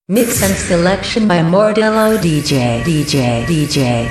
Mix and selection by Mordello DJ.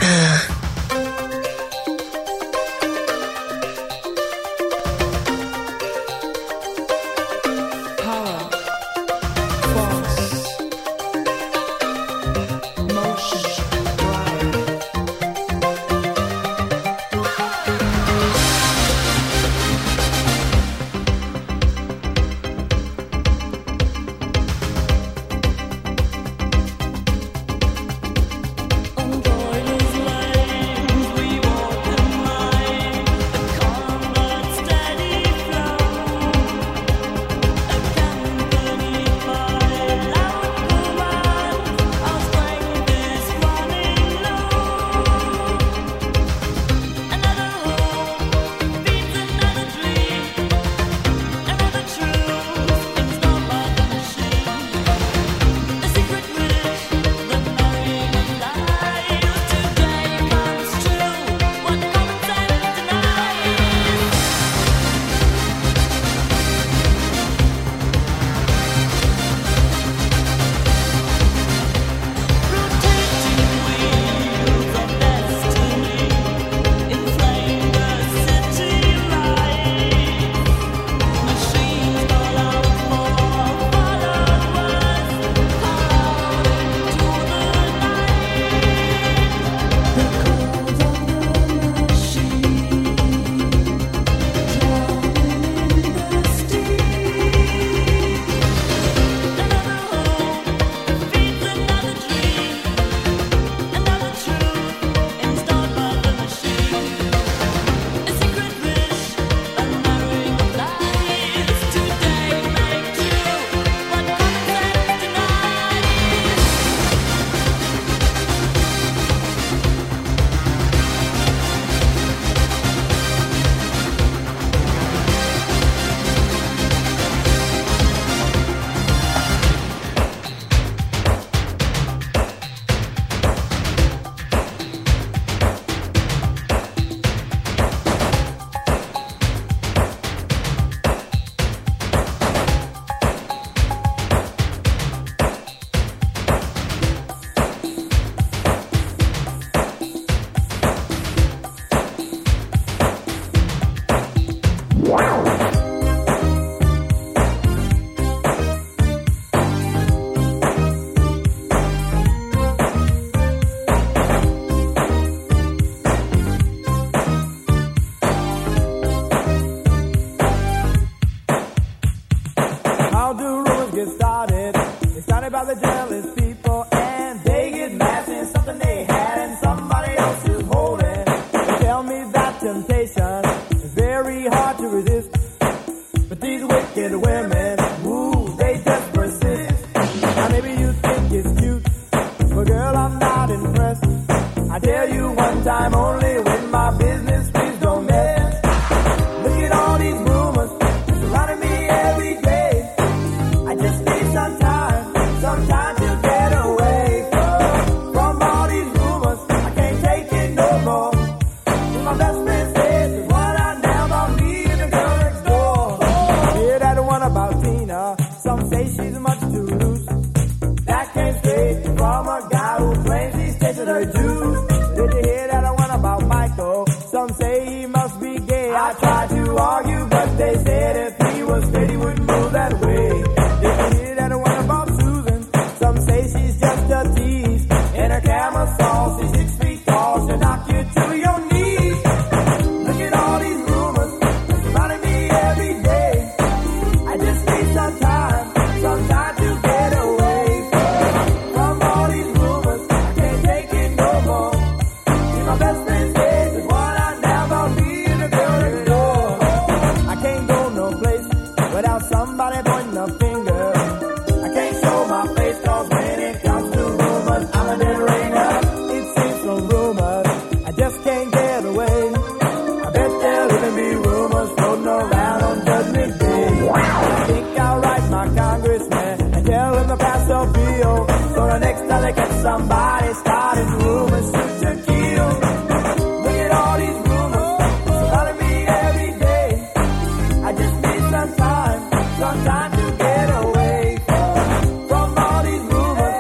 Time to get away from all these rumors.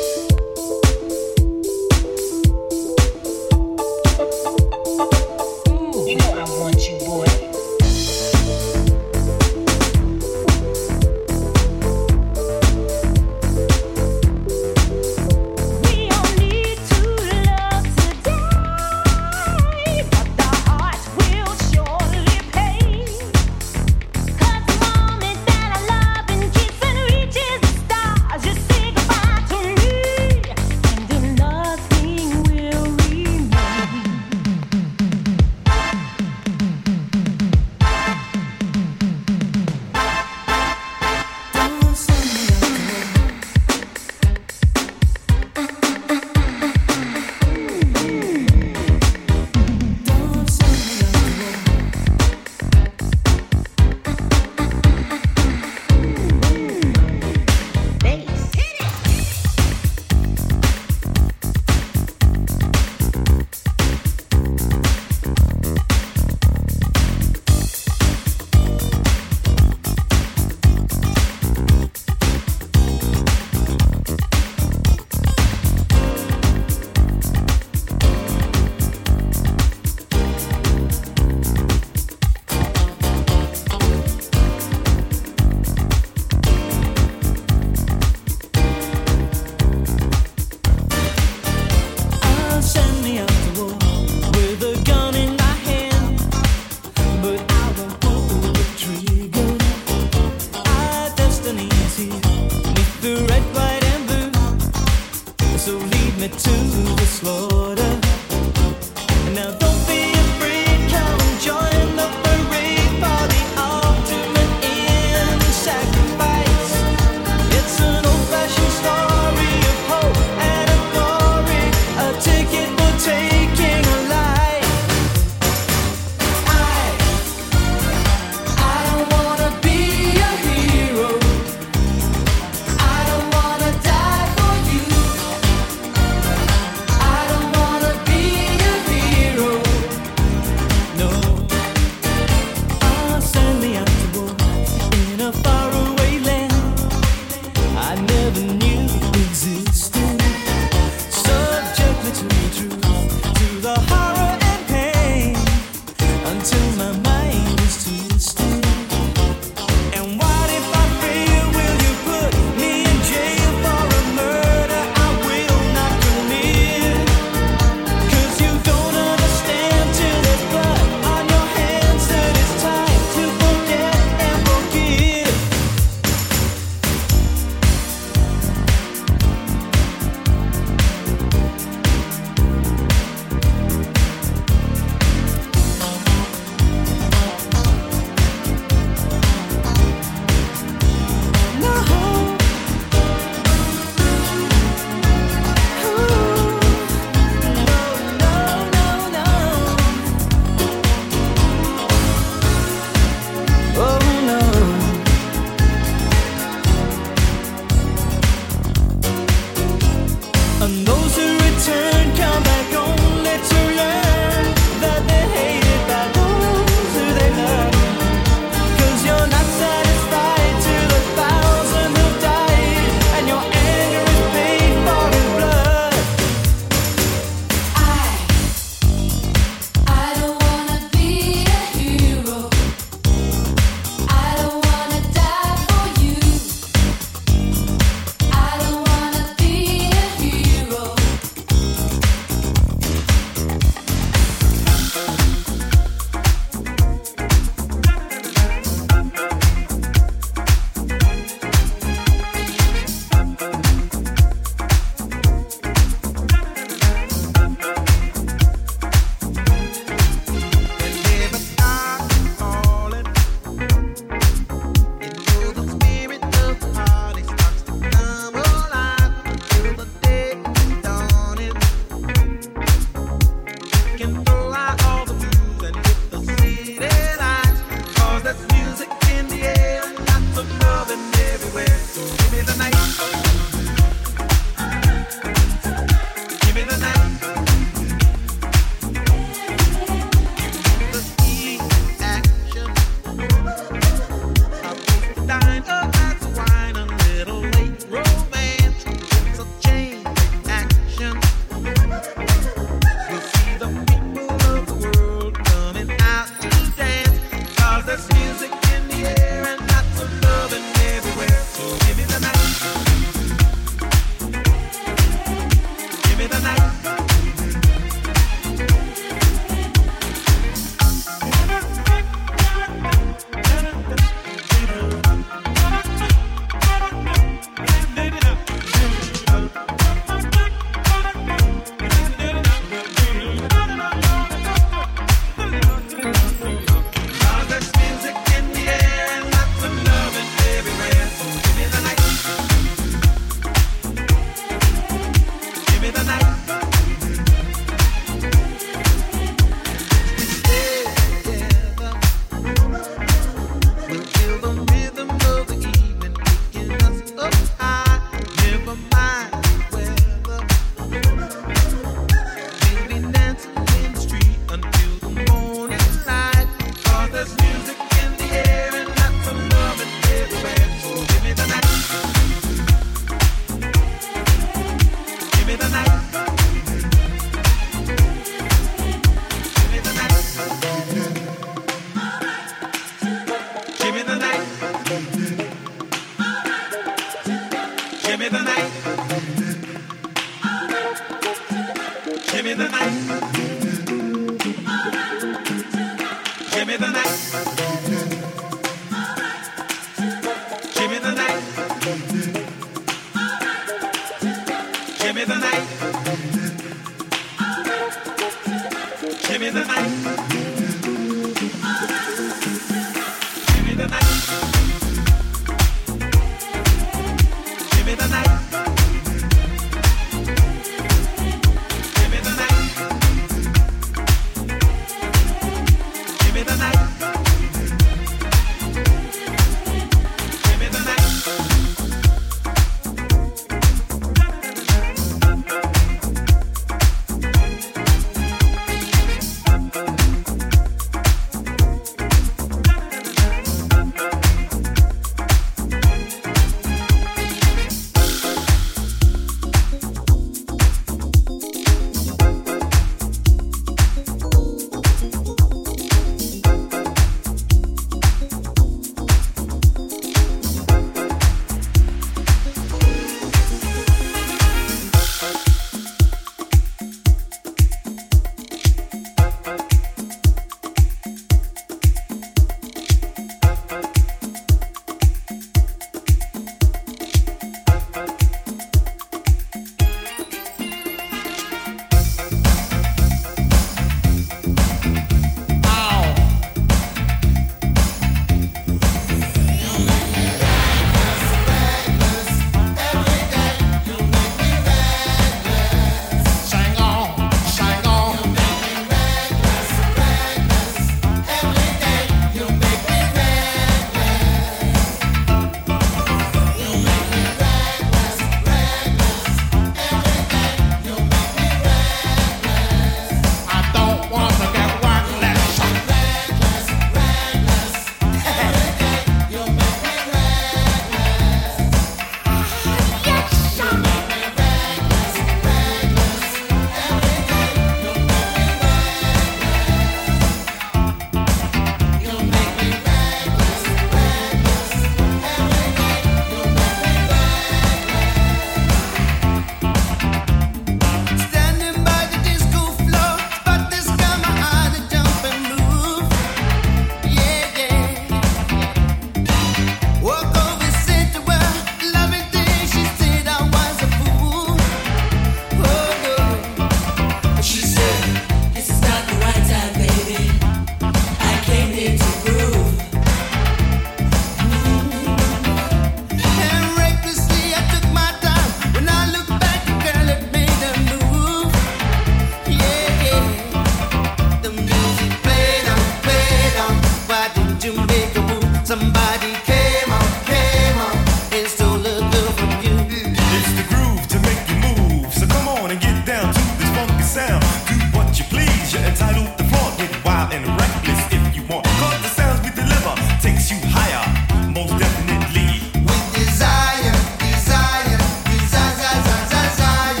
Somebody came on and stole a girl from you. It's the groove to make you move. So come on and get down to this funky sound. Do what you please, you're entitled to flaunt. Get wild and reckless if you want. Cause the sounds we deliver takes you higher, most definitely. With desire, desire, desire, desire.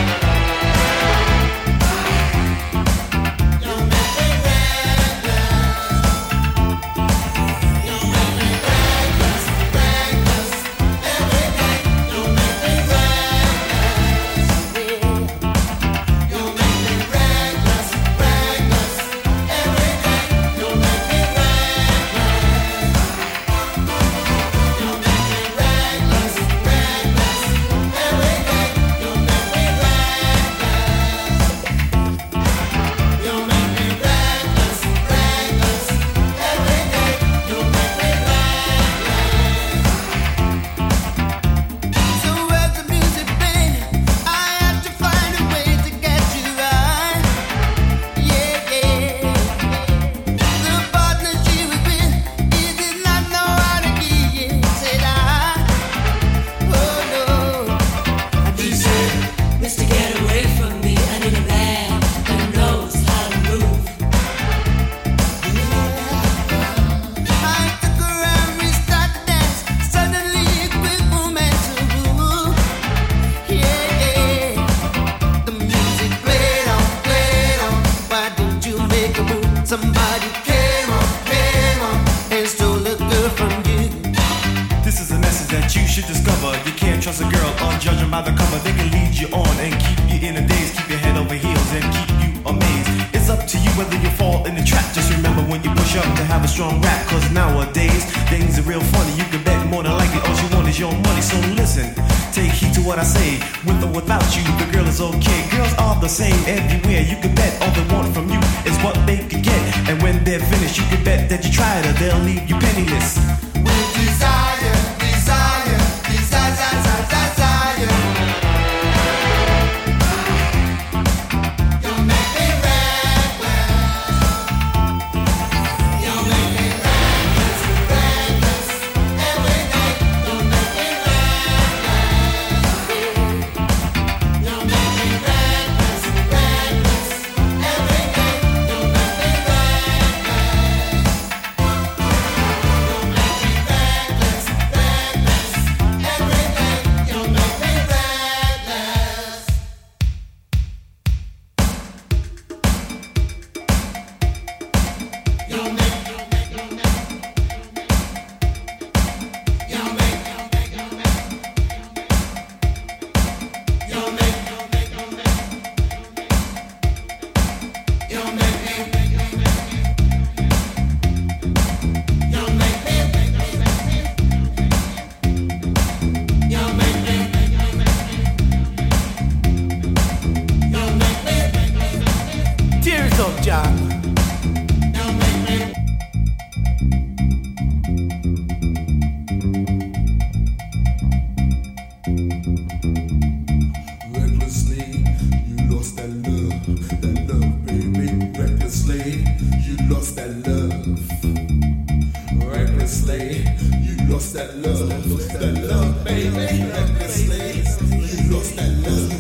You make me reckless. You make me reckless, reckless. Every day you make me reckless. You make me reckless, reckless. Every day you make me reckless. You make me reckless, reckless. Every day you make me reckless. You make me reckless, reckless. Every day you make me reckless. So as the music played, I had to find a way to get you right. Yeah, yeah. The partner she was with, he did not know how to get, said I. Oh no. He said, Mister, get away from me. I need a man that knows how to move. I took her and we started to dance. Suddenly a quick momentum grew. Yeah, yeah. The music played on. Why didn't you make a move? Somebody came on and stole a girl from you. This is a message that you should discover. You can't trust a girl unjudging by the cover. They can lead you on and keep you in a daze, keep your head over heels and keep you amazed. It's up to you whether you fall in the trap. Just remember when you push up to have a strong rap. Cause nowadays things are real funny. You can bet more than likely all you want is your money. So listen, take heed to what I say. With or without you, the girl is okay. Girls are the same everywhere. You can bet all they want from you is what they can get. And when they're finished, you can bet that you tried her, they'll leave you penniless. With desire, desire, desire, desire, desire. You make me reckless. You make me reckless, reckless. Every day you make me reckless. You make me reckless, reckless. Every day you make me reckless. You make me reckless, reckless. Every day you make me reckless. You make Tears up, John. Recklessly, you lost that love, baby. Recklessly, you lost that love. Recklessly, you lost that love, baby. Recklessly, you lost that love.